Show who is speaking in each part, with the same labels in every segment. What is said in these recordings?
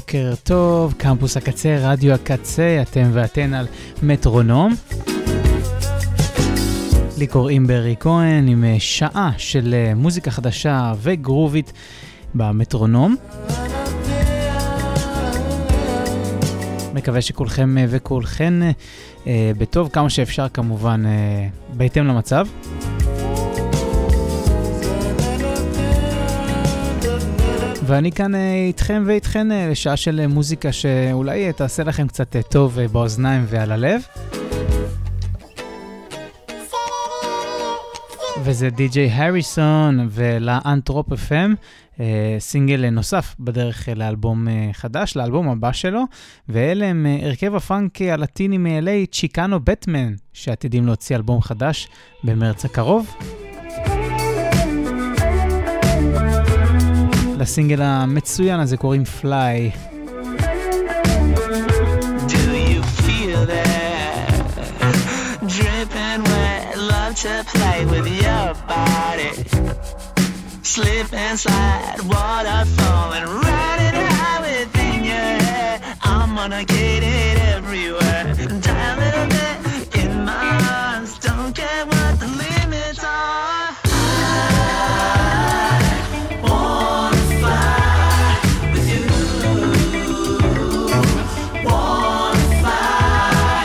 Speaker 1: בוקר טוב, קמפוס הקצה, רדיו הקצה, אתם ואתן על מטרונום. לי קוראים ברי כהן עם שעה של מוזיקה חדשה וגרובית במטרונום. מקווה שכולכם וכולכן בטוב כמה שאפשר, כמובן בהתאם למצב. ואני כאן איתכם ואיתכן לשעה של מוזיקה שאולי תעשה לכם קצת טוב באוזניים ועל הלב. וזה די.ג'יי הריסון ולאנטרופ FM, סינגל נוסף בדרך לאלבום חדש, לאלבום הבא שלו, ואלה הם הרכב הפאנק הלטיני מ-LA, צ'יקאנו בטמן, שעתידים להוציא אלבום חדש במרץ הקרוב. לסינגל המצוין הזה קוראים פליי.
Speaker 2: To play with your body, slip and slide, waterfall and ride it high within your head. I'm gonna get it everywhere. Die a little bit in my arms, don't care what the limits are. I wanna fly with you. Wanna fly.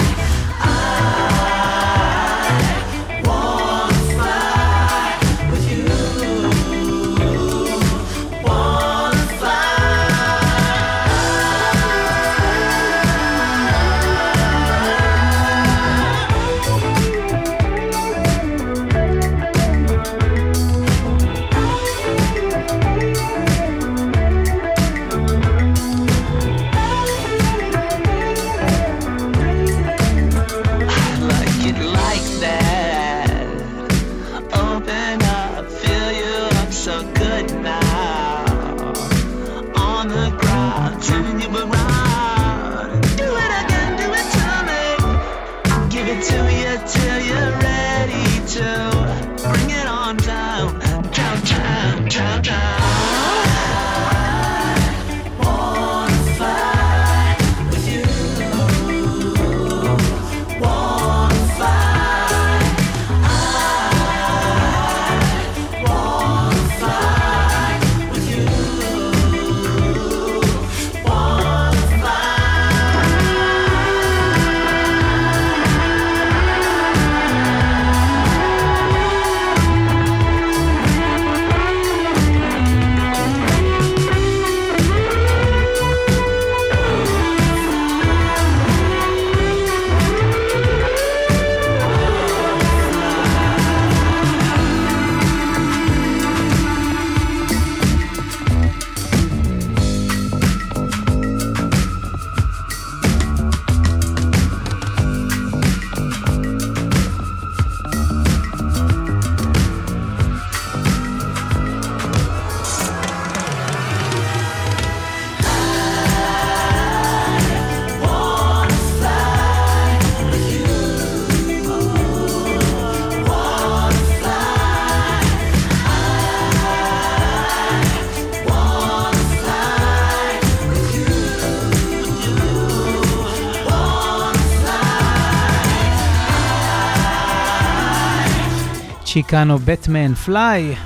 Speaker 1: צ'יקאנו בטמן פליי,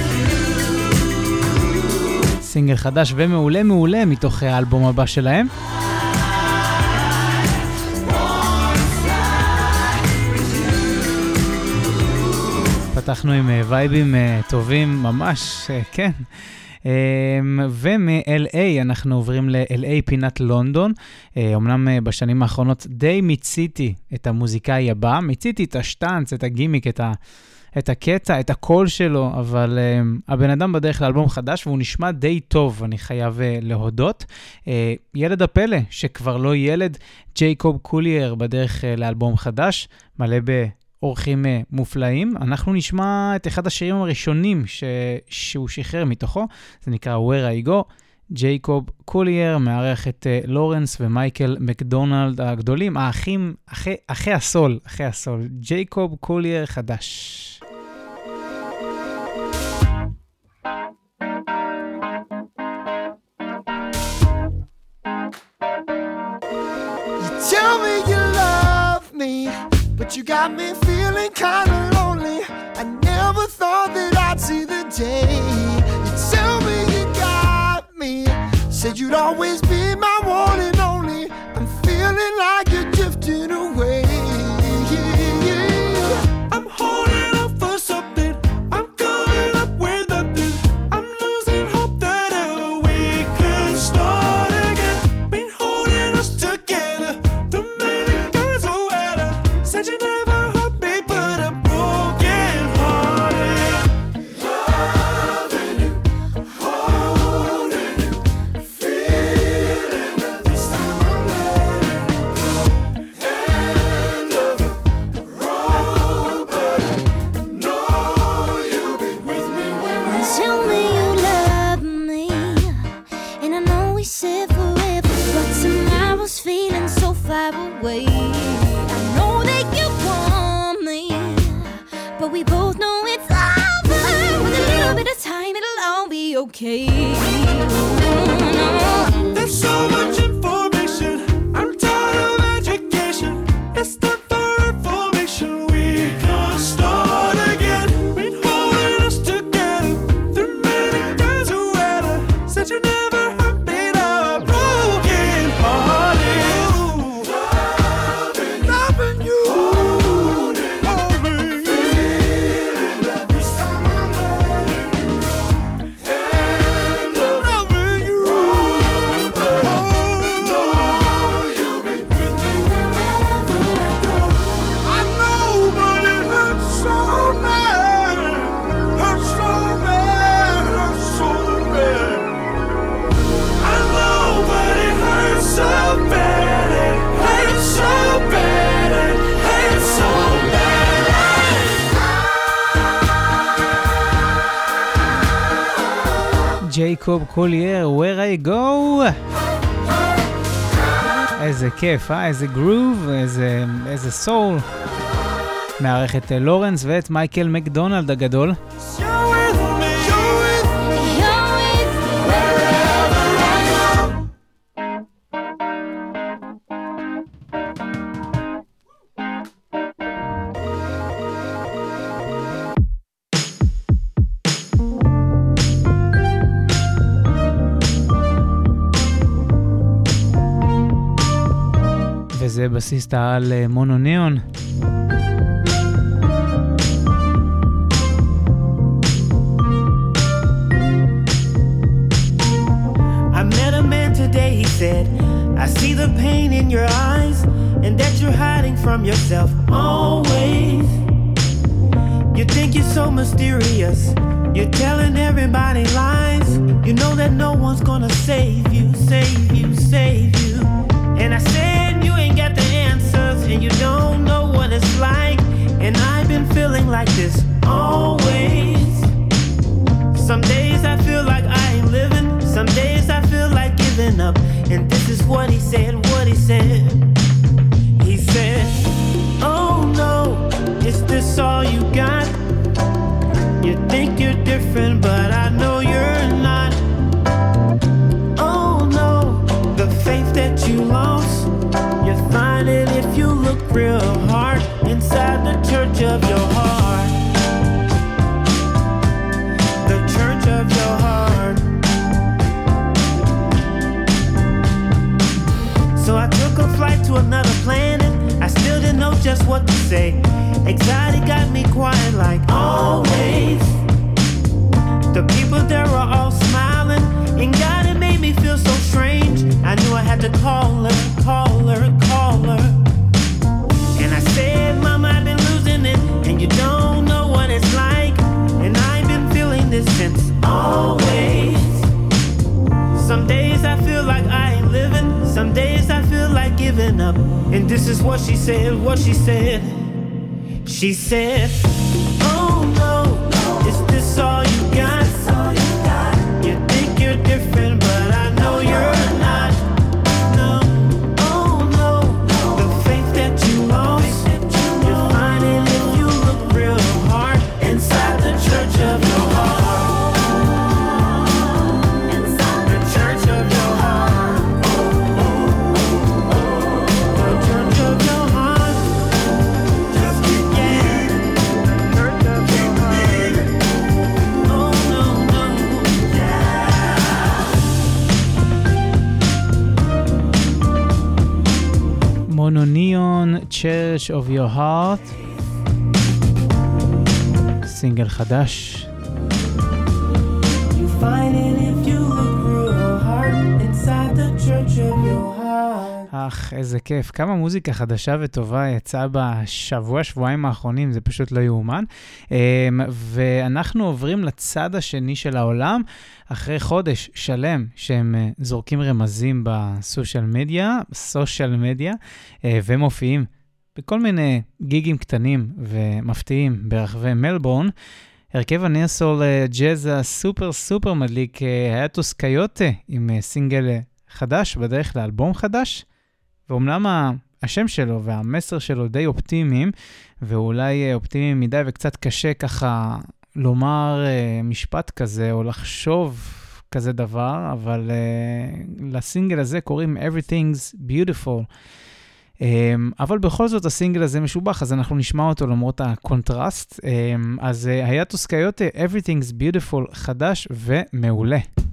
Speaker 1: סינגל חדש ומעולה מעולה מתוך האלבום הבא שלהם. פתחנו עם וייבים טובים ממש, כן. ומ-LA אנחנו עוברים ל-LA פינת לונדון. אמנם בשנים האחרונות די מיציתי את המוזיקאי הבא, מיציתי את השטנץ, את הגימיק, את הקטע, את הקול שלו, אבל הבן אדם בדרך לאלבום חדש, והוא נשמע די טוב, אני חייב להודות. ילד הפלא, שכבר לא ילד, ג'ייקוב קולייר בדרך לאלבום חדש, מלא באורחים מופלאים. אנחנו נשמע את אחד השירים הראשונים שהוא שחרר מתוכו, זה נקרא Where I Go. ג'ייקוב קולייר מארח את לורנס ומייקל מקדונלד הגדולים, האחים, אחי הסול, ג'ייקוב קולייר חדש.
Speaker 3: got me feeling kinda lonely. I never thought that I'd see the day. You tell me you got me, said you'd always be my one and only. I'm feeling like you're drifting away.
Speaker 4: I'm holding up for something, I'm coming up with nothing. I'm losing hope that we could start again. Been holding us together, the many girls who had her. Said you never hurt me, but I'm broken hearted. Loving you, holding you, feeling that this time I'm letting go. End of the road, but I know you'll be with me when I
Speaker 5: Tell me you love me, and I know we said forever, but tomorrow's feeling so far away. I know that you want me, but we both know it's over. With a little bit of time, it'll all be okay.
Speaker 4: There's so much information, I'm tired of education. It's time for information, we can start again. Been holding us together, through many days who had her. Said you never hurt me, now I'm broken hearted. Loving you, holding me, feeling that this time I'm letting go. And loving you, but I know you'll be with me wherever I go. I know, but it hurts so bad, hurts so bad, hurts so bad. I know, but it hurts so bad, it hurts so bad, it hurts so bad.
Speaker 1: ג'ייקוב קולייר, Where I Go. איזה כיף, איזה גרוב, איזה סול. מערכת לורנס ואת מייקל מקדונלד הגדול.
Speaker 4: You're with me, you're with me,
Speaker 5: You're with me.
Speaker 4: wherever I go.
Speaker 1: וזה בסיסט על מונוניאון.
Speaker 6: I met a man today, he said, I see the pain in your eyes, and that you're hiding from yourself always. You think you're so mysterious, you're telling everybody lies. You know that no one's gonna save you, save you, save you. And I said you ain't got the answers, and you don't know what it's like. And I've been feeling like this always. Some days I feel like I ain't living, some days I feel like giving up. And this is what he said, what he said. He said, oh no, is this all you got? You think you're different, but I know you're not. Oh no, the faith that you lost, you find it if you look real hard inside the church of your heart. The church of your heart. So I took a flight to another planet. I still didn't know just what to say. Anxiety got me quiet like always. The people there were all smiling, and God, it made me feel so strange. I knew I had to call her, call her, call her. And I said, Mama, I've been losing it, and you don't know what it's like. And I've been feeling this since always. Some days I feel like I ain't living, some days I feel like giving up. And this is what she said, what she said. She said, oh no, is this all you got? You think you're different, but I know you're not. No, oh no, the faith that you lost, you find it if you look real hard inside the church of your heart. The church of your heart. The church of your heart. Just
Speaker 1: On a Neon Church of Your Heart, סינגל חדש.
Speaker 6: You find it if you look through her heart inside the church of your heart.
Speaker 1: איזה כיף. כמה מוזיקה חדשה וטובה יצאה שבועיים האחרונים, זה פשוט לא יאומן. ואנחנו עוברים לצד השני של העולם, אחרי חודש שלם שהם זורקים רמזים בסושיאל מדיה, ומופיעים בכל מיני גיגים קטנים ומפתיעים ברחבי מלבורן. הרכב הניאסול ג'אז הסופר מדליק היאטוס קיוטה עם סינגל חדש, בדרך לאלבום חדש, ואומנם השם שלו והמסר שלו די אופטימיים, ואולי אופטימיים מדי וקצת קשה ככה לומר משפט כזה או לחשוב כזה דבר, אבל לסינגל הזה קוראים Everything's Beautiful. אבל בכל זאת הסינגל הזה משובח, אז אנחנו נשמע אותו למרות הקונטרסט. אז היאטוס קיוטה, Everything's Beautiful, חדש ומעולה.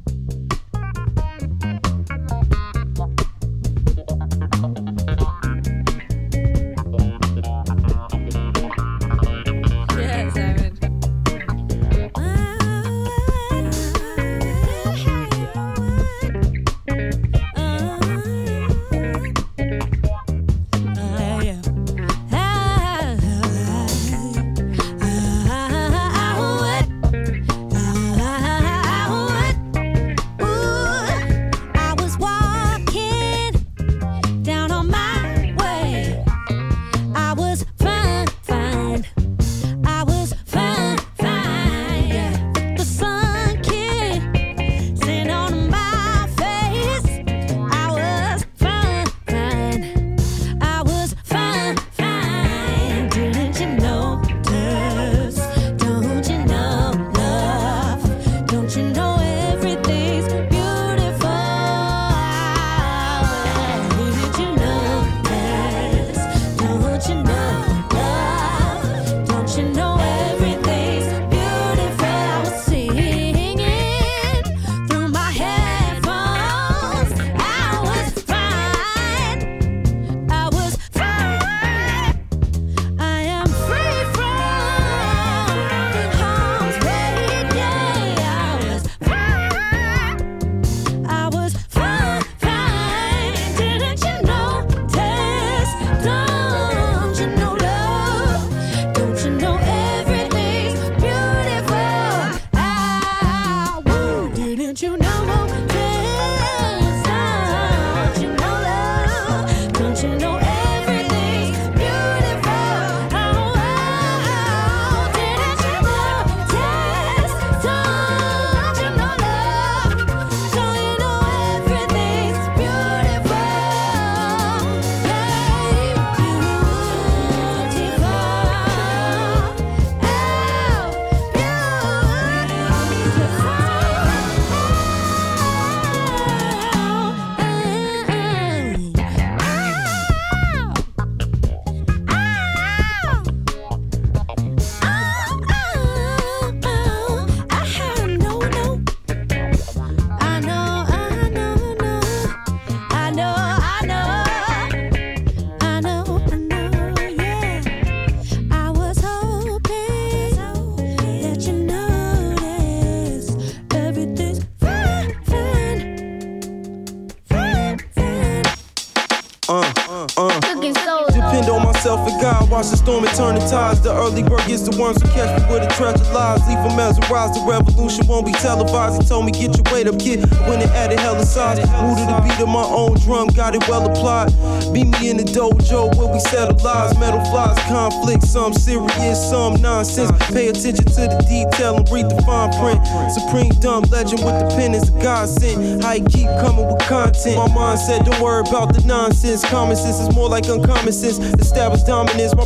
Speaker 7: Watch the storm and turn the tides. The early bird gets the worms who catch me with a treasure lies. Leave them mesmerized. The revolution won't be televised. He told me get your weight up, kid. When it added hella size, moved to the beat of my own drum, got it well applied. Meet me in the dojo where we settle lies. Metal flies, conflict, some serious, some nonsense. Pay attention to the detail and read the fine print. Supreme dumb legend with the pen is a godsend. How he keep coming with content. My mind said don't worry about the nonsense. Common sense is more like uncommon sense. Established dominance. My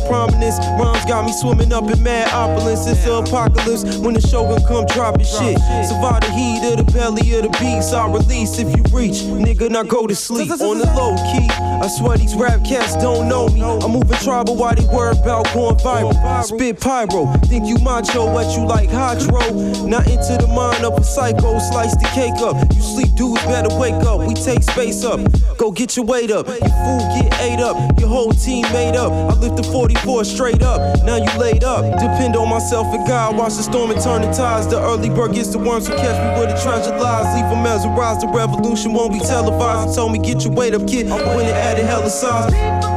Speaker 7: prominence. Rhymes got me swimming up in mad opulence. It's the apocalypse when the shogun come dropping shit. Survive the heat of the belly of the beast. I'll release if you reach, nigga, now go to sleep. On the low key, I swear these rap cats don't know me. I'm moving tribal while they worry about going viral. Spit pyro, think you macho, what you like hydro. Not into the mind of a psycho, slice the cake up. You sleep dudes better wake up, we take space up. Go get your weight up, your food get ate up. Your whole team made up, I lift the 44 straight up. Now you laid up, depend on myself and God. Watch the storm and turn the tides. The early bird gets the worms who catch me where the treasure lies. Leave them mesmerized, the revolution won't be televised. They told me get your weight up kid, I went and added hella size.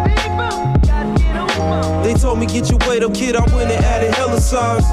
Speaker 7: They told me get your weight up kid, I went and added hella size.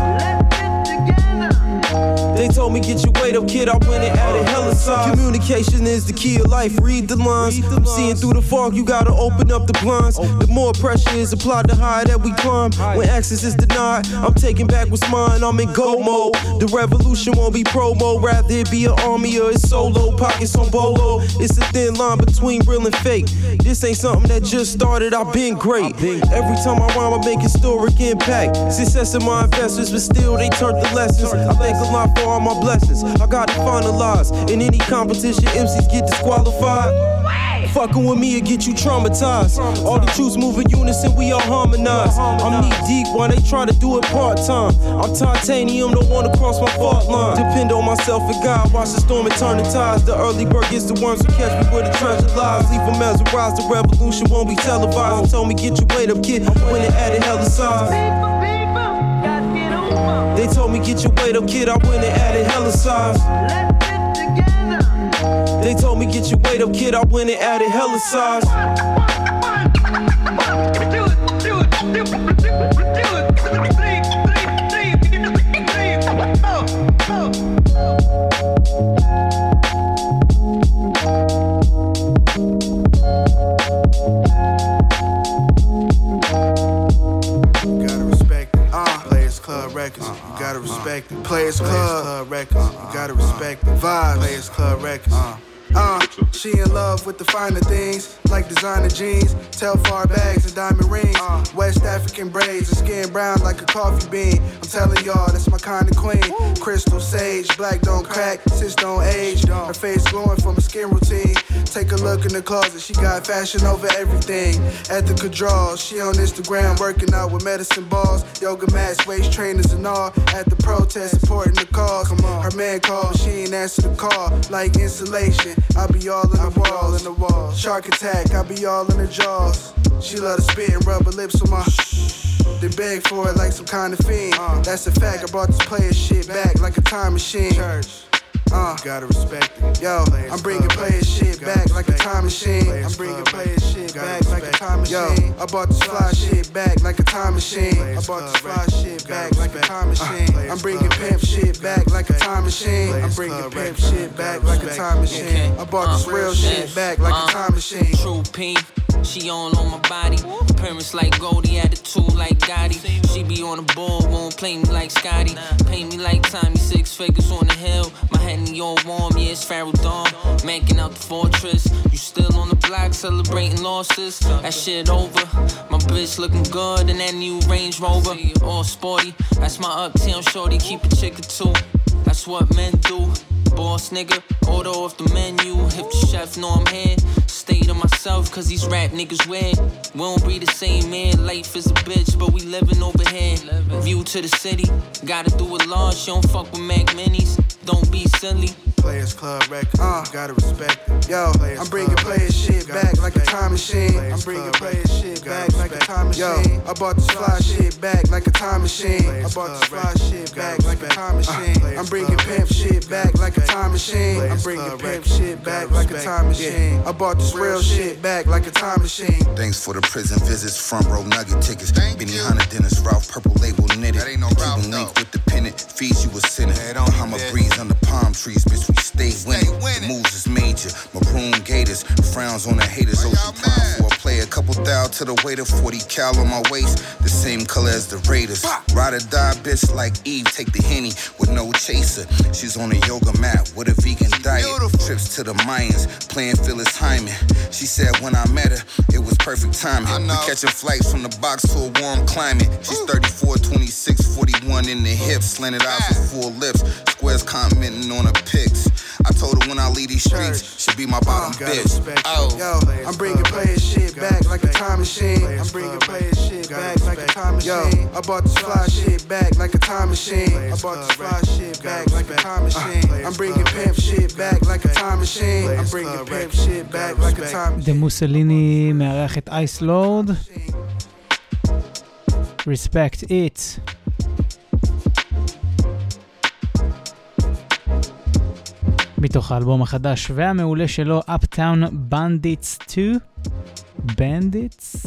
Speaker 7: They told me get your weight up kid, I went and added hella size. Communication is the key of life, read the lines. I'm seeing through the fog, you gotta open up the blinds. The more pressure is applied, the higher that we climb. When access is denied, I'm taking back what's mine, I'm in go mode. The revolution won't be promo, rather it be an army or it's solo. Pockets on bolo, it's a thin line between real and fake. This ain't something that just started, I've been great. Every time I rhyme, I make historic impact. Success in my investors, but still they turned the lessons. I thank a lot for all my blessings. I got to finalize. In any competition, MCs get disqualified. Fucking with me, it get you traumatized. All the truths move in unison, we all harmonize. I'm knee deep while they try to do it part-time. I'm titanium, don't wanna cross my fault line. Depend on myself and God, watch the storm and turn the tides. The early bird gets the worms who catch me where the treasure lies. Leave them mesmerized, the revolution won't be televised. They told me get your weight up kid, I went and added hella size. They told me get your weight up kid, I went and added hella size. They told me get your weight up kid, I went and added hella size.
Speaker 8: Records, you gotta respect it. Players Club Records, you gotta respect it. Vibes, Players Club Records. She in love with the finer things, like designer jeans, Telfar bags and diamond rings, West African braids and skin brown like a coffee bean. I'm telling y'all, that's my kind of queen. Crystal sage, black don't crack, sis don't age. Her face glowing from a skin routine. Take a look in the closet, she got fashion over everything. Ethical draws, she on Instagram working out with medicine balls, yoga mats, waist trainers and all. At the protest, supporting the cause. Her man called, she ain't answer the call. Like insulation, I be all in the walls. Shark attack, I be all in her jaws. She love to spit and rub her lips on my They beg for it like some kind of fiend. That's a fact, I brought this player shit back like a time machine. Gotta respect it. Yo, I'm bringing player shit back like a time machine. I'm bringing player shit back like a time machine. I bought this fly shit back like a time machine. I bought this fly shit back like a time machine. I'm bringing pimp shit back like a time machine. I'm bringing pimp shit back like a time machine. I bought this real shit back like a time machine.
Speaker 9: True P. She on my body. Parents like Goldie, attitude like Gotti. She be on the board, won't play me like Scotty. Pay me like Tommy, 6 figures on the hill. My Henny all warm, yeah, it's Pharaoh Dawn. Manking out the fortress. You still on the block celebrating losses. That shit over. My bitch looking good in that new Range Rover. All sporty. That's my uptown shorty. Keep a chick or two. That's what men do. Boss nigga, order off the menu. If the chef know I'm here, stay to myself, cause these rap niggas weird. We don't be the same, man. Life is a bitch, but we living over here. View to the city, gotta do it large. You don't fuck with Mac Minis, don't be silly.
Speaker 8: Players Club Records, gotta respect it. Yo, I'm bringing player shit back like a time machine. I'm bringing player shit back like a time machine. Yo, I bought this fly shit back like a time machine. I bought this fly shit back like a time machine. I'm bringing pimp shit back like a time machine. I'm bringing pimp shit back like a time machine. I bought this real shit back like a time machine.
Speaker 10: Thanks for the prison visits, front row nugget tickets. Benny Hunter, Dennis Ralph, purple label knitted. Cuban link with the pennant, feeds you a sinner. Bahama breeze under palm trees, bitch, we stay winning. The moves is major, maroon gators, frowns on the haters. Ocean prime for a play, a couple $1,000 out to the waiter, 40 cal on my waist, the same color as the Raiders. Ride or die, bitch, like Eve, take the Henny with no chaser. She's on a yoga mat with a vegan diet. Trips to the Mayans, playing Phyllis Hyman. She said when I met her, it was perfect timing. We catching flights from the box to a warm climate. She's 34, 26, 41 in the hips, slanted eyes with full lips, squares commenting on her pics. I told her when I leave these streets, she'll be my bottom bitch. Oh,
Speaker 8: yo, I'm bringing player shit back like a time machine. I'm bringing player shit back like a time machine. Yo, I bought this fly shit back like a time machine. I bought this fly shit back like a time machine. I'm bringing pimp shit back like a time machine. I'm bringing pimp shit back like a time machine.
Speaker 1: דה מוסליני מארח את אייס לורד. Respect it. מתוך האלבום החדש והמעולה שלו, Uptown Bandits 2. Bandits?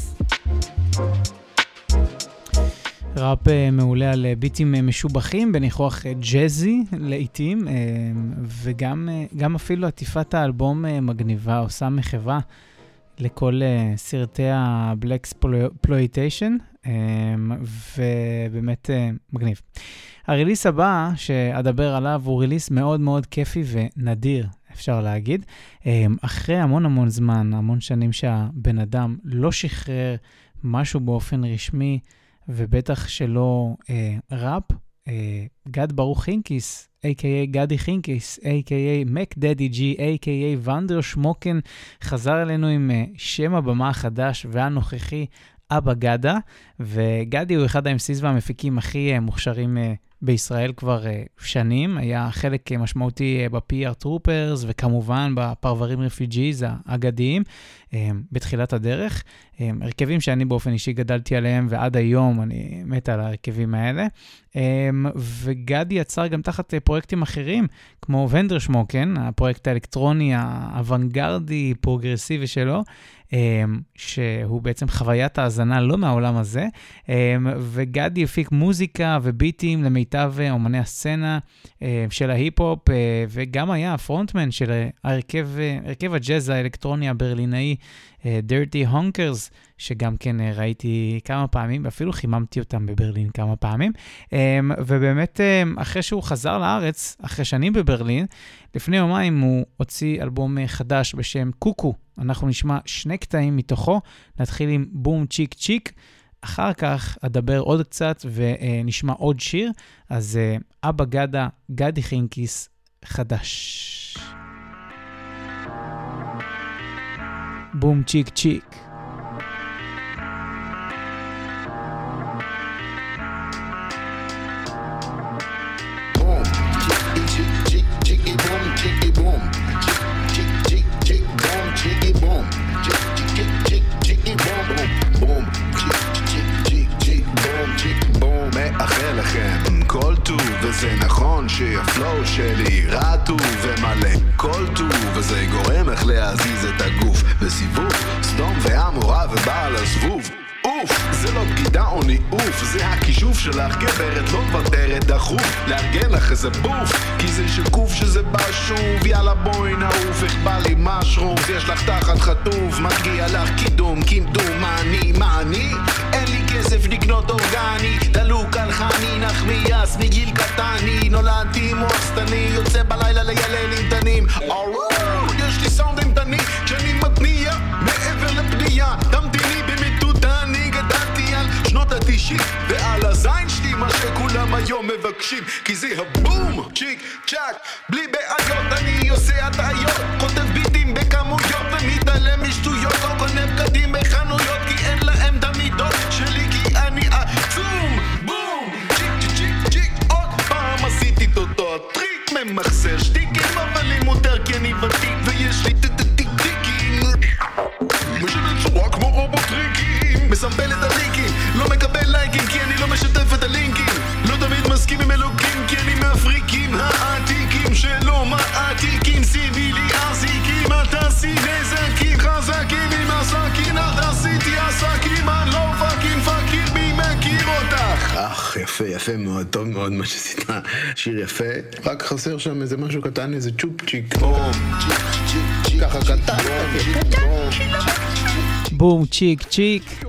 Speaker 1: ראפ מעולה על ביטים משובחים, בניחוח ג'זי לעיתים, וגם אפילו עטיפת האלבום מגניבה, עושה מחווה לכל סרטי ה-Blaxploitation, ובאמת מגניב. הריליס הבא שאדבר עליו הוא ריליס מאוד מאוד כיפי ונדיר, אפשר להגיד. אחרי המון זמן, המון שנים שהבן אדם לא שחרר משהו באופן רשמי, ובטח שלא ראפ, גד ברוך חינקיס, a.k.a. גדי חינקיס, a.k.a. מק דדי ג'י, a.k.a. ונדר שמוקן, חזר אלינו עם שם הבמה החדש והנוכחי, אבא גדה, וגדי הוא אחד ה-MCs והמפיקים הכי מוכשרים בישראל כבר שנים, היה חלק משמעותי ב-PR טרופרס, וכמובן בפרברים רפיג'יז האגדיים, בתחילת הדרך, הרכבים שאני באופן אישי גדלתי עליהם, ועד היום אני מת על הרכבים האלה, וגדי יצר גם תחת פרויקטים אחרים, כמו ונדר שמוקן, הפרויקט האלקטרוני האוונגרדי, פרוגרסיבי שלו, שהוא בעצם חוויית ההזנה לא מהעולם הזה, וגדי הפיק מוזיקה וביטים למיטב אומני הסצנה של ההיפ-הופ, וגם היה הפרונטמן של הרכב הג'אז האלקטרוני הברלינאי, Dirty Honkers, שגם כן ראיתי כמה פעמים, ואפילו חיממתי אותם בברלין כמה פעמים, ובאמת אחרי שהוא חזר לארץ, אחרי שנים בברלין, לפני יומיים הוא הוציא אלבום חדש בשם קוקו, אנחנו נשמע 2 קטעים מתוכו, נתחיל עם בום צ'יק צ'יק, אחר כך אדבר עוד קצת ונשמע עוד שיר, אז אבא גדה, גדי חינקיס חדש. בום צ'יק צ'יק.
Speaker 11: מאחל לכם כל טוב, וזה נכון שהפלואו שלי רטוב ומלא כל טוב, וזה גורם איך להזיז את הגוף בסיבוב סדום והמורה ובעל הזבוב. אוף, זה לא בגידה או ניאוף, זה הכישוף שלך גברת, לא מוותרת דחוף לארגן לך איזה בוף, כי זה שקוף שזה בא שוב, יאללה בואי נעוף, איך בא לי משרום, יש לך תחת חטוף, מגיע לך קידום, קימדום, מה אני? אין לי כסף לקנות אורגני, דלוק על חני, נחמיאס מגיל קטני, נולדתי מוחסטני, יוצא בלילה לילל אינטנים, יש לי סאונד אינטני, כשאני מתניע, מעבר לפנייה, תמתיני במטודה, אני גדלתי על שנות ה-90, ועל הזין שלי מה שכולם היום מבקשים, כי זה הבום, צ'יק צ'ק, בלי בעיות, אני עושה הטעיות, כותב ביטים בכמויות, ומתעלם משטויות, לא קונה בגדים בחנויות, כי אין להם את המידות שלי, כי אני עצום, בום, צ'יק צ'יק צ'יק, עוד פעם עשיתי את אותו הטריק, ממחסר שטיקים, אבל לי מותר כי אני ותיק, ויש לי טיקים, משנה צורה כמו רובוטריקים, מסמבל את הליקים, לא מקבל לייקים, כי אני לא משתף את הלינקים, לא תמיד מסכים עם אלוקים, כי אני מהפריקים העתיקים שלא מעתיקים, שימי לי אזיקים, אל תעשי נזקים חזקים עם עסקים, אל תעשיתי עסקים, אני לא פאקינג פאקיר, מי מכיר אותך? יפה, יפה מאוד, טוב מאוד מה שעשית, שיר יפה, רק חסר שם איזה משהו קטן, איזה צ'ופצ'יק, ככה קטן,
Speaker 1: בום, צ'יק, צ'יק.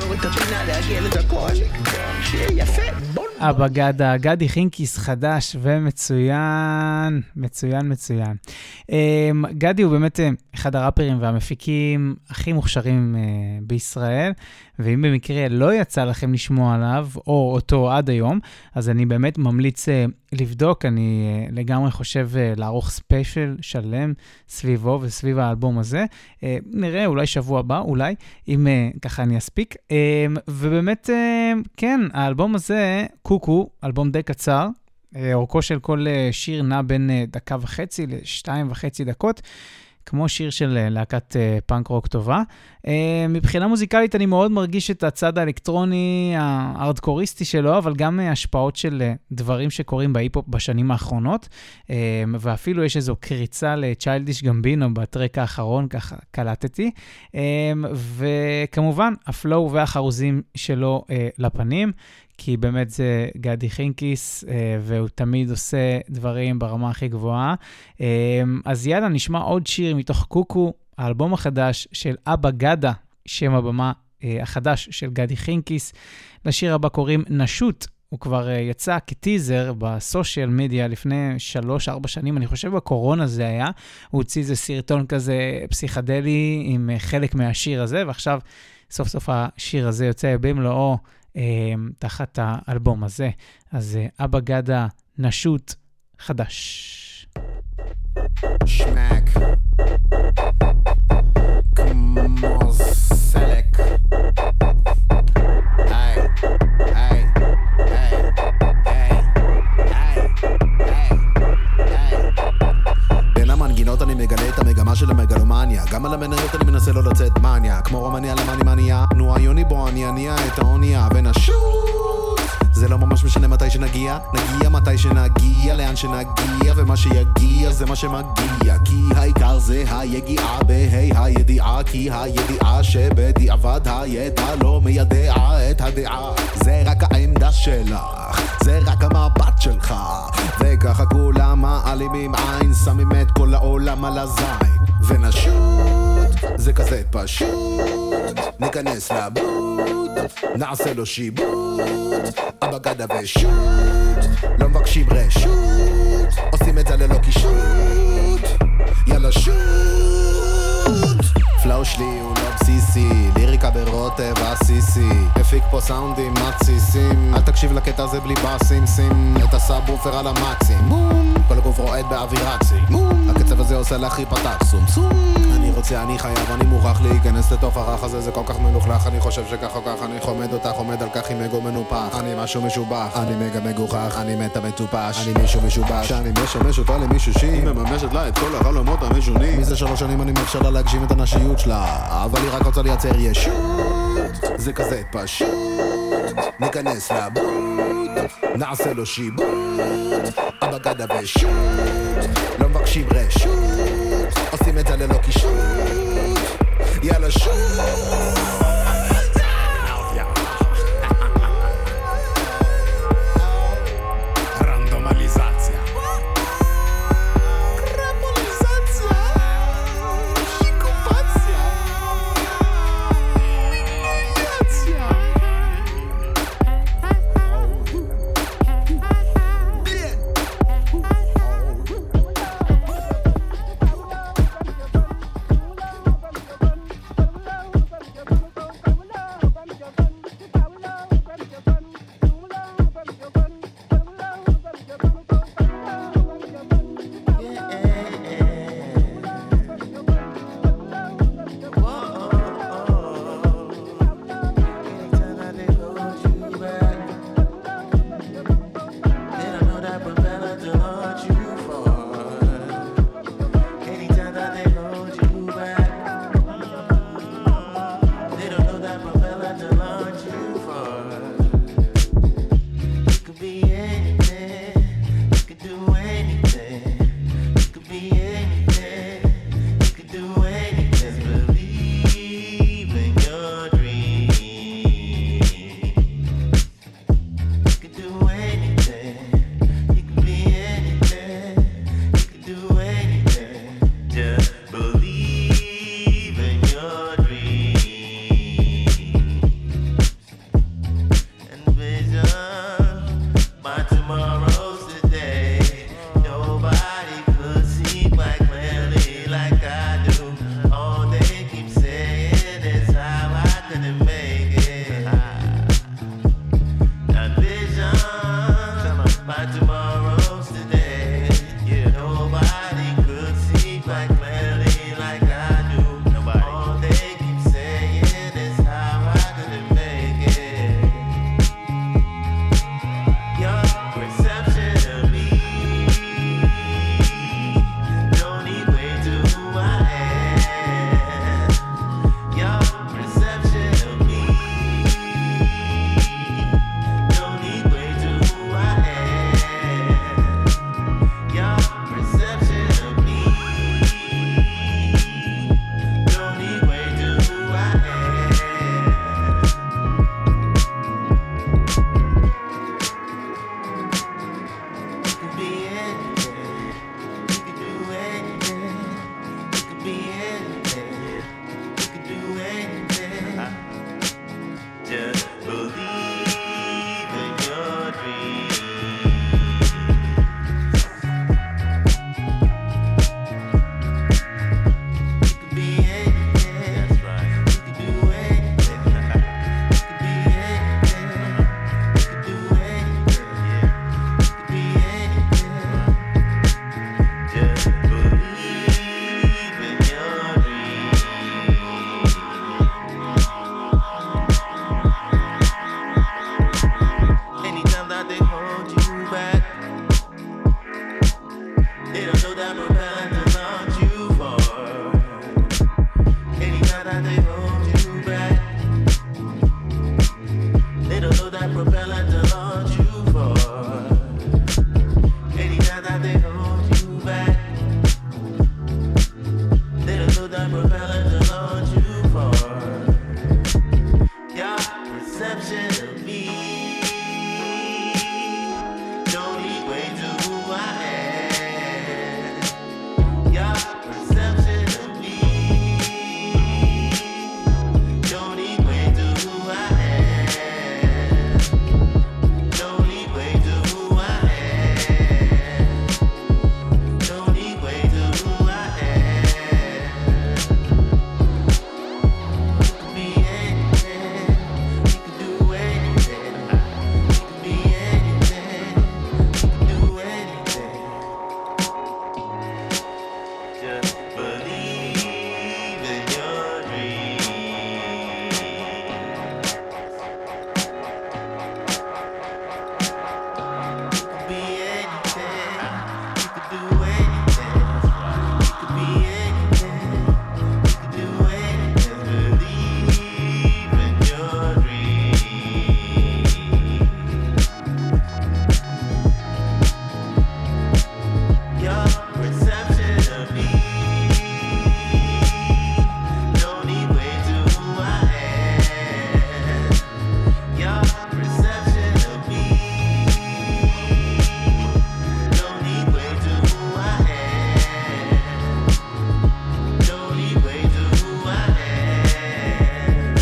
Speaker 1: אבא גדה, גדי חינקיס חדש ומצוין, מצוין. גדי הוא באמת אחד הראפרים והמפיקים הכי מוכשרים בישראל, ואם במקרה לא יצא לכם לשמוע עליו, או אותו עד היום, אז אני באמת ממליץ לבדוק. אני לגמרי חושב לערוך ספיישל שלם סביבו וסביב האלבום הזה. נראה, אולי שבוע הבא, אולי, אם ככה אני אספיק. ובאמת, כן, האלבום הזה, קוקו, אלבום די קצר, אורכו של כל שיר נע בין 1.5 ל2.5 דקות, כמו שיר של להקת פאנק רוק טובה. מבחינה מוזיקלית אני מאוד מרגיש את הצד האלקטרוני, הארדקוריסטי שלו, אבל גם השפעות של דברים שקורים בהיפ-הופ בשנים האחרונות, ואפילו יש איזו קריצה לצ'יילדיש גמבינו בטרק האחרון, ככה קלטתי, וכמובן הפלואו והחרוזים שלו לפנים, כי באמת זה גדי חינקיס, והוא תמיד עושה דברים ברמה הכי גבוהה. אז יאללה, נשמע עוד שיר מתוך קוקו, האלבום החדש של אבא גדה, שם הבמה החדש של גדי חינקיס. לשיר הבא קוראים נשות, הוא כבר יצא כטיזר בסושיאל מדיה לפני 3-4 שנים, אני חושב בקורונה זה היה, הוא הוציא איזה סרטון כזה פסיכדלי עם חלק מהשיר הזה, ועכשיו סוף סוף השיר הזה יוצא במלואו, תחת האלבום הזה. אז אבא גדה, נשות, חדש.
Speaker 12: שמק כמו סלק. היי היי היי היי היי היי. בין המנגינות אני מגלה את המגמה של המגלומניה, גם על המניות אני מנסה לא לצאת מניה, כמו רומניה למני מניה, נו היוני בו אני אניע את האונייה ונשות. זה לא ממש משנה מתי שנגיע, נגיע מתי שנגיע, לאן שנגיע, ומה שיגיע זה מה שמגיע, כי העיקר זה היגיעה בהי הידיעה, כי הידיעה שבדיעבד הידע לא מיידע את הדעה, זה רק העמדה שלך, זה רק המבט שלך, וככה כולם מעלימים עין, שמים את כל העולם על הזין, ונשות זה כזה פשוט, ניכנס לבוט, נעשה לו שיבוט, אבא גדה ושות, לא מבקשים רשות, עושים את זה ללא קישוט, יאללה שוט. פלאו שלי הוא לא בסיסי, ליריקה ברוטב הסיסי, הפיק פה סאונדים מתסיסים, אל תקשיב לקטע הזה בלי בסים, שים את הסאבופר על המקסים, בום, כל הגוף רועד באווירצי, בום, הקצב הזה עושה להכי פתח סום סום, אני רוצה, אני חייב, אני מוכרח להיכנס לתוך הרח הזה, זה כל כך מלוכלך, אני חושב שכך או כך, אני חומד אותך, עומד על כך עם אגו מנופח, אני משהו משובח, אני מגה מגוחך, אני מתה מטופש, אני מישהו משובש, שאני משמש אותה למישהו שהיא מממשת לה את כל החלומות המשונים, מזה 3 שנים אני מאפשר לה להגשים את הנשיות שלה, אבל היא רק רוצה לייצר ישות, זה כזה פשוט, ניכנס לבוט, נעשה לו שיבוט, אבא גדה ושות, לא מבקשים רשות, עושים את זה ללא קישוט, יאללה שוט.
Speaker 13: tomorrow's today. Yeah, nobody could see quite clearly like I do. Nobody. All they keep saying is how I couldn't make it. Your perception of me don't equate to who I am. Your perception of me don't equate to who I am. Your perception of me don't equate to who I am. You could be anything, you could do anything, you could be anything, you could do anything. Just believe in your dreams. You could be anything. That's right. You could do anything. You could be anything. You could do anything. You could be anything. Just believe in your dreams. Anytime that they hold you back, they don't know that propeller to launch you for. Anytime that they hold you back, they don't know that propeller to launch you for. Anytime that they hold you back, they don't know that propeller to launch you for. Your perception of me don't equate to who I am. Your perception of me don't equate to who I am. Don't equate to who I am. Don't equate to who I am. You could be anything. You could do anything. You could be anything. You could do anything. Just believe in your dreams. You could be anything. You could do anything. You could be anything. You could do anything. Believe in your dreams. Your perception of me don't equate to who I am. Your perception of me don't equate to who I am. Don't equate to who I am.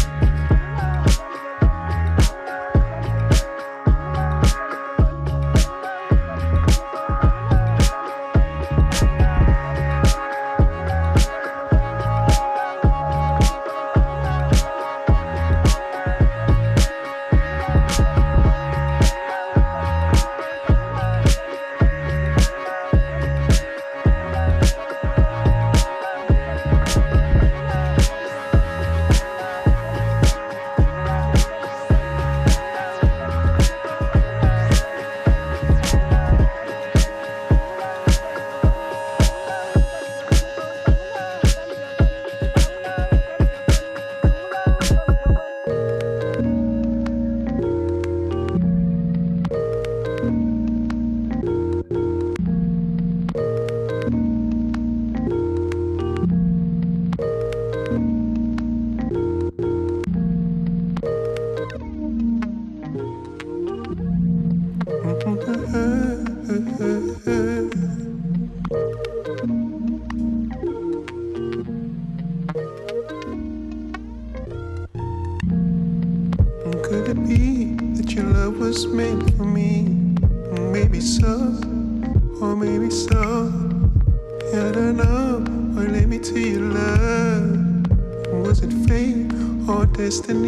Speaker 14: Could it be that your love was meant for me? Maybe so, or maybe so. I don't know what led me to your love. Was it fate or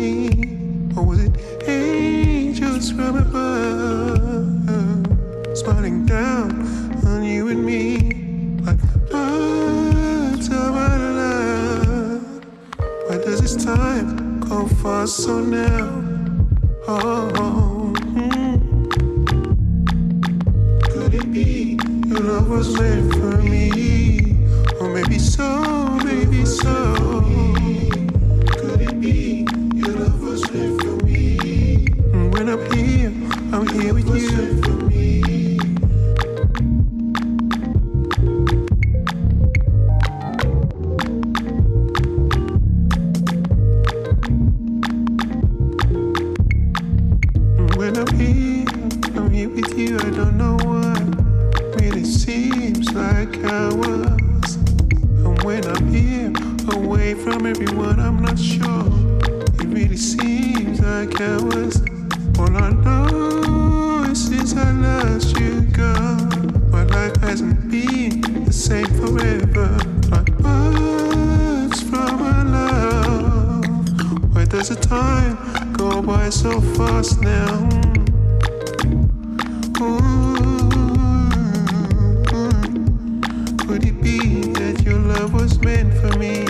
Speaker 14: destiny? Or was it angels from above? smiling down on you and me like birds of our love. Why does this time go fast so now? Could it be your love was meant for me? Or maybe so, maybe so. Could it be your love was meant for me? And when I'm here with you. When I'm here with you. I don't know what really seems like hours. And when I'm here, away from everyone, I'm not sure. It really seems like hours. All I know is since I lost you, girl, my life hasn't been the same forever. Like birds from our love. Why does the time go by so fast now? Could it be that your love was meant for me?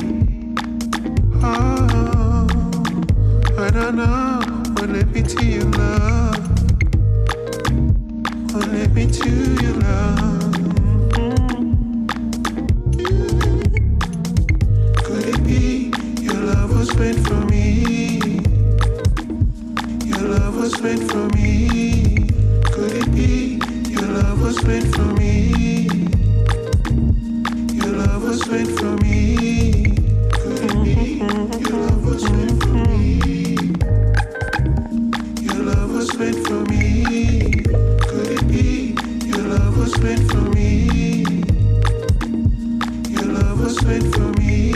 Speaker 14: Oh, I don't know what led me to your love. What led me to your love? Could it be your love was meant for me? Your love was meant for me. Could it be your love was meant for me? Your love was meant for me. Could it be your love was meant for me? Your love was meant for me. Could it be your love was meant for me? Your love was meant for me.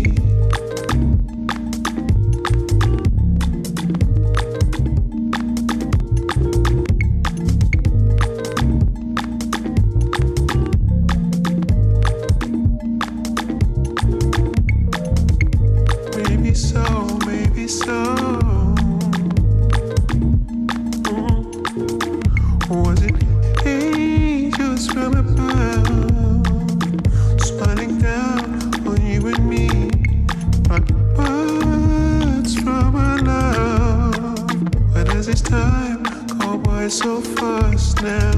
Speaker 14: Maybe so, maybe so. Was it angels from above, smiling down on you and me, like birds from our love? Why does this time go by so fast now?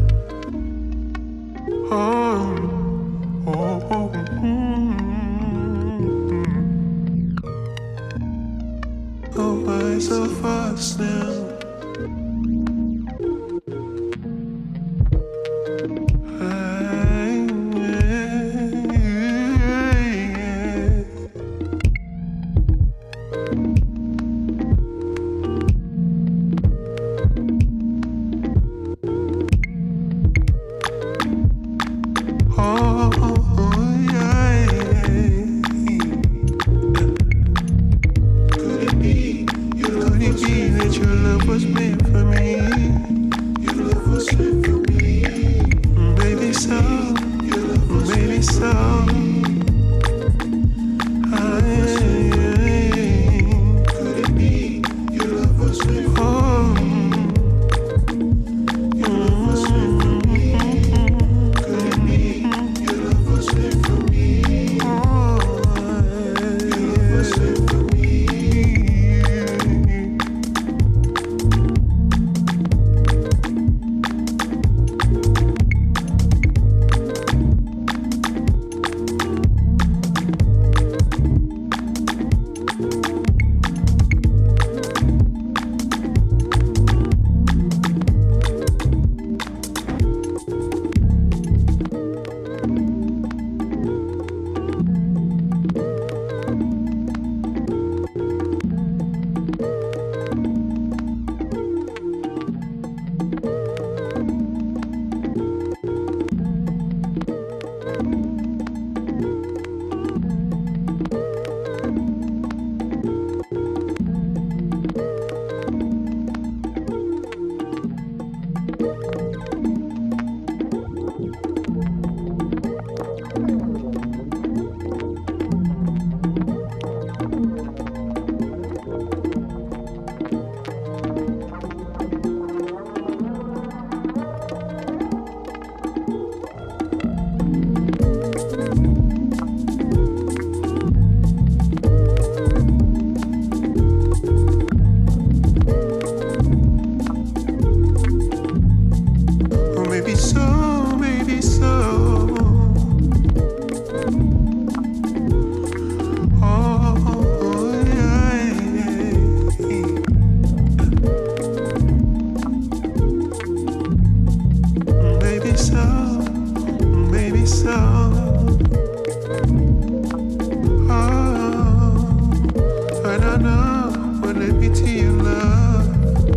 Speaker 14: Go by so fast now. maybe so. Oh, I don't know what led me to your love.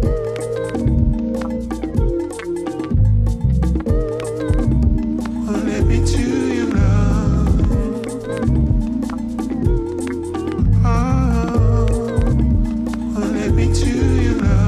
Speaker 14: What led me to your love? Oh, what led me to your love?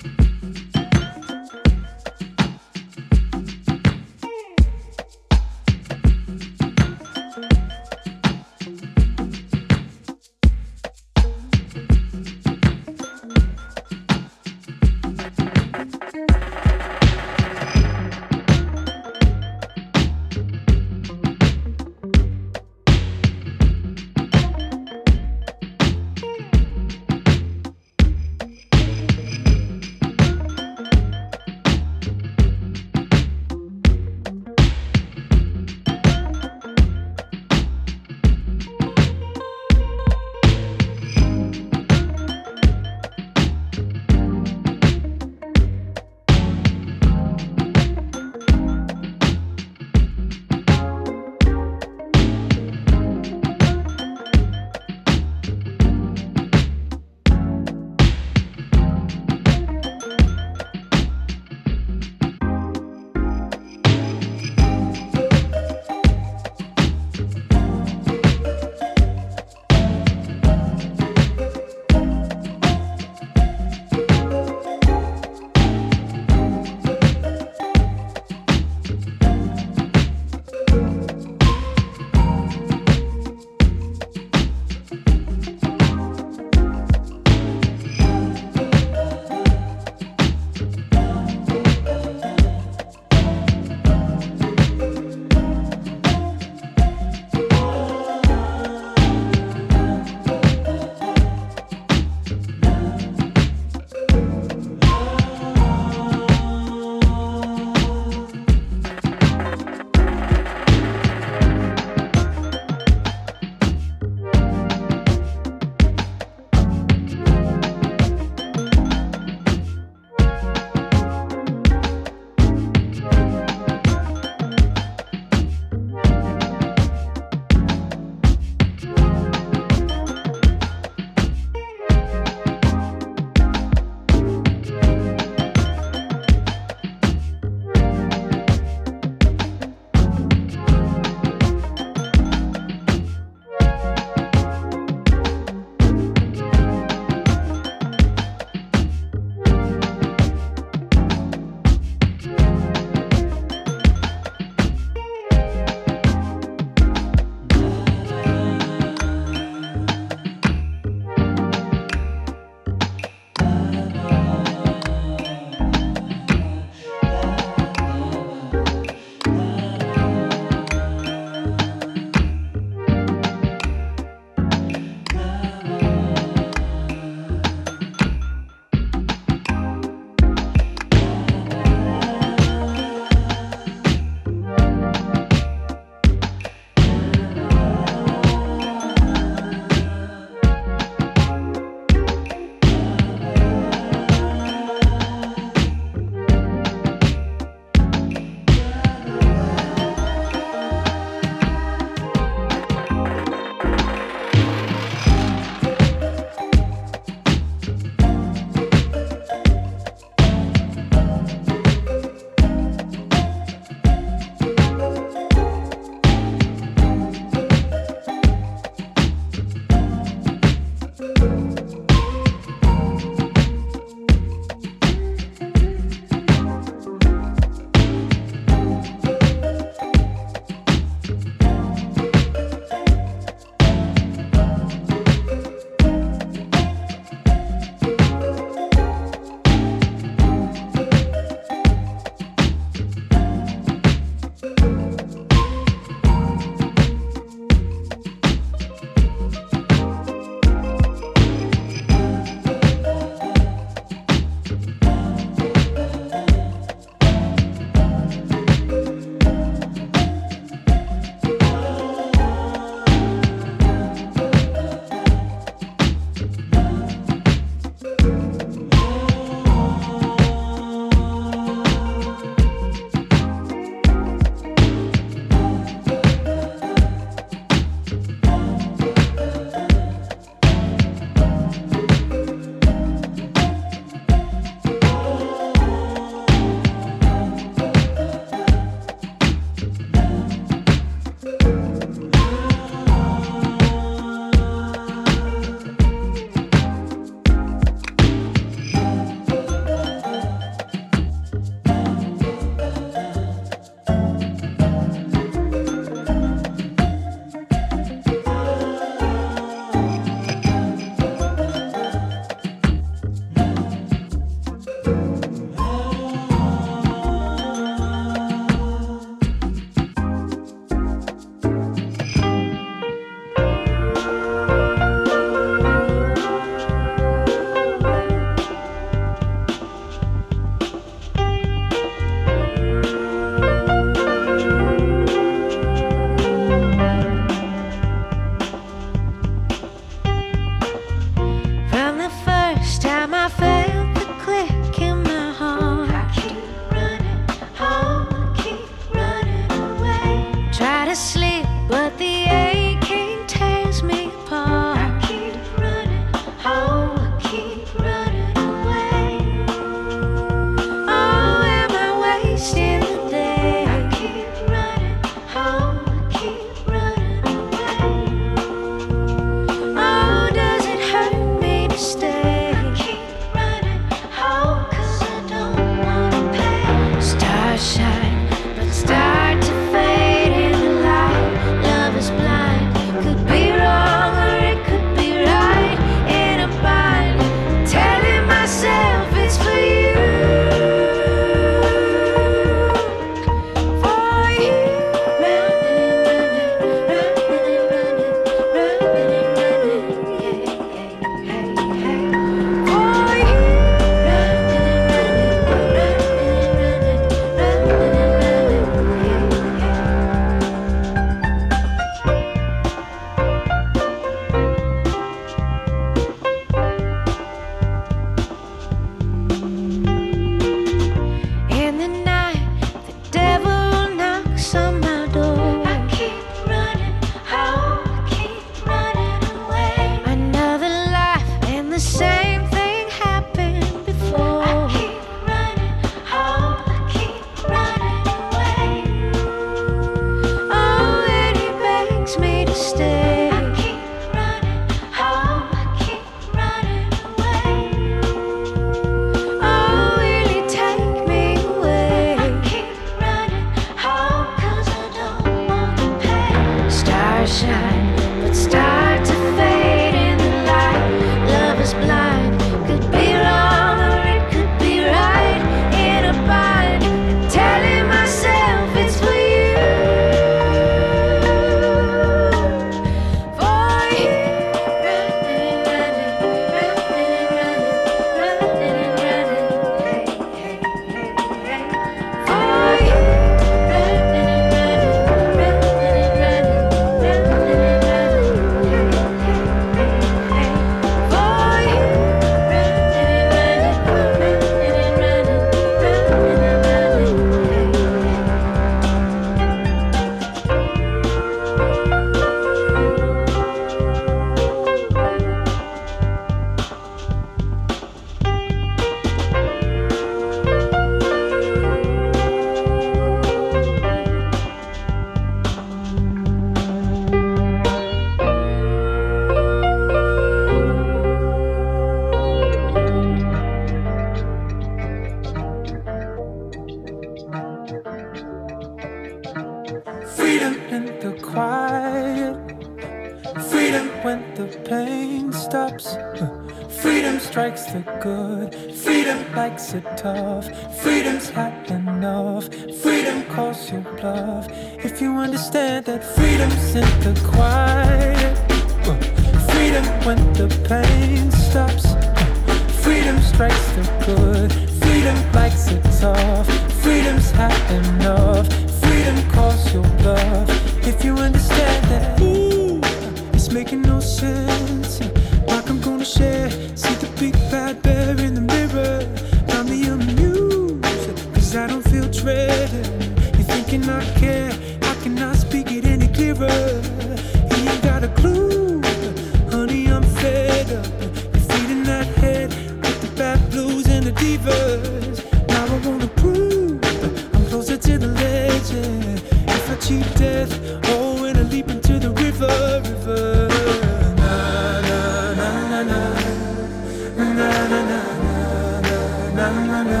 Speaker 4: Freedom when the pain stops. Freedom strikes the good. Freedom likes it tough. Freedom's hot enough. Freedom calls your bluff. If you understand that freedom's in the quiet. Freedom when the pain stops. Freedom strikes the good. Freedom likes it tough. Freedom's hot enough. Freedom calls your bluff. If you understand that, ooh, it's making no sense. Like I'm gonna share. See the big bad bear in the mirror. Got me amused, cause I don't feel dread. You're thinking I care. I cannot speak it any clearer. You ain't got a clue. Honey, I'm fed up. You're feeding that head with the bad blues and the divas. Now I wanna prove I'm closer to the legend. If I cheat death, oh, when I leap into the river. Na na na na na na na na na na na na.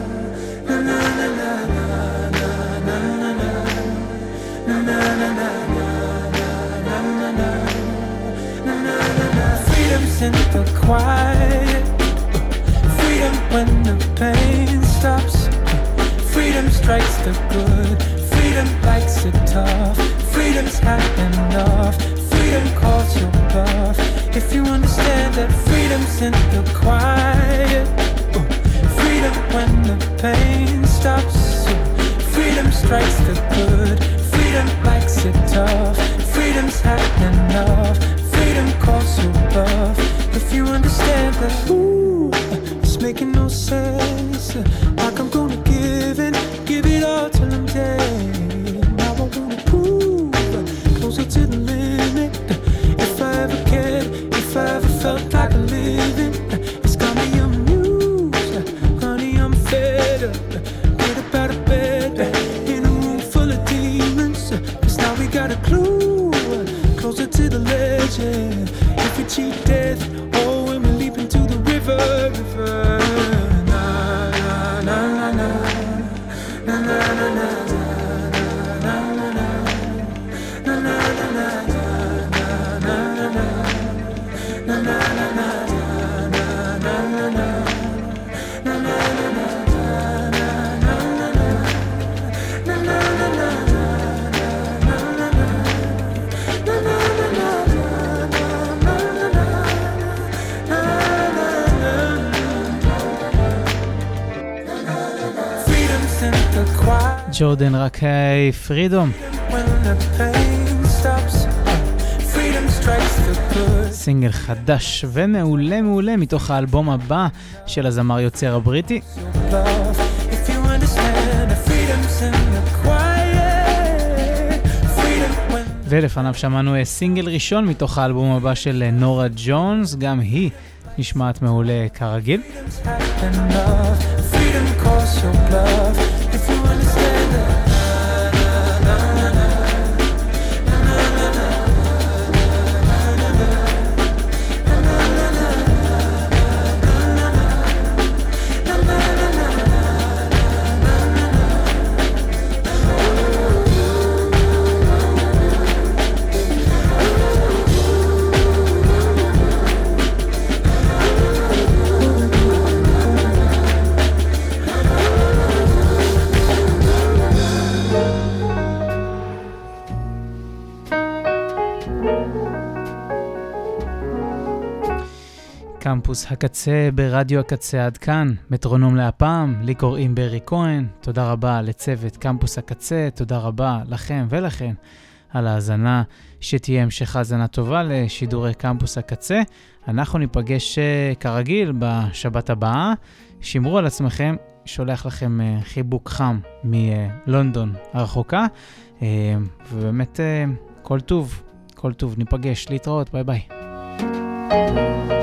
Speaker 4: Freedom's in the quiet. Freedom when the pain stops. Freedom strikes the good. Freedom likes it tough. Freedom's hot enough. Freedom calls your bluff. If you understand that freedom's in the quiet. Freedom when the pain stops. Freedom strikes the good. Freedom likes it tough. Freedom's hot enough. Freedom calls your bluff. If you understand that, ooh, it's making no sense. Like I'm gonna give it all till I'm dead. Now I wanna prove closer to the limit. If I ever cared, if I ever felt like a living, it's got me amused. Honey, I'm fed up. Get up out of bed in a room full of demons. Cause now we got a clue. Closer to the legend. If we cheat death, oh, when we leap into the river. Na na na na na na na na na.
Speaker 1: ג'ורדן רקאי, פרידום. סינגל חדש ומעולה מעולה מתוך האלבום הבא של הזמר יוצר הבריטי. ולפניו שמענו סינגל ראשון מתוך האלבום הבא של נורה ג'ונס, גם היא נשמעת מעולה כרגיל. קמפוס הקצה ברדיו הקצה עד כאן, מטרונום להפעם, לי קוראים ברי כהן, תודה רבה לצוות קמפוס הקצה, תודה רבה לכם ולכן על ההאזנה, שתהיה המשך האזנה טובה לשידורי קמפוס הקצה, אנחנו ניפגש כרגיל בשבת הבאה, שמרו על עצמכם, שולח לכם חיבוק חם מלונדון הרחוקה, ובאמת כל טוב, ניפגש, להתראות, ביי ביי.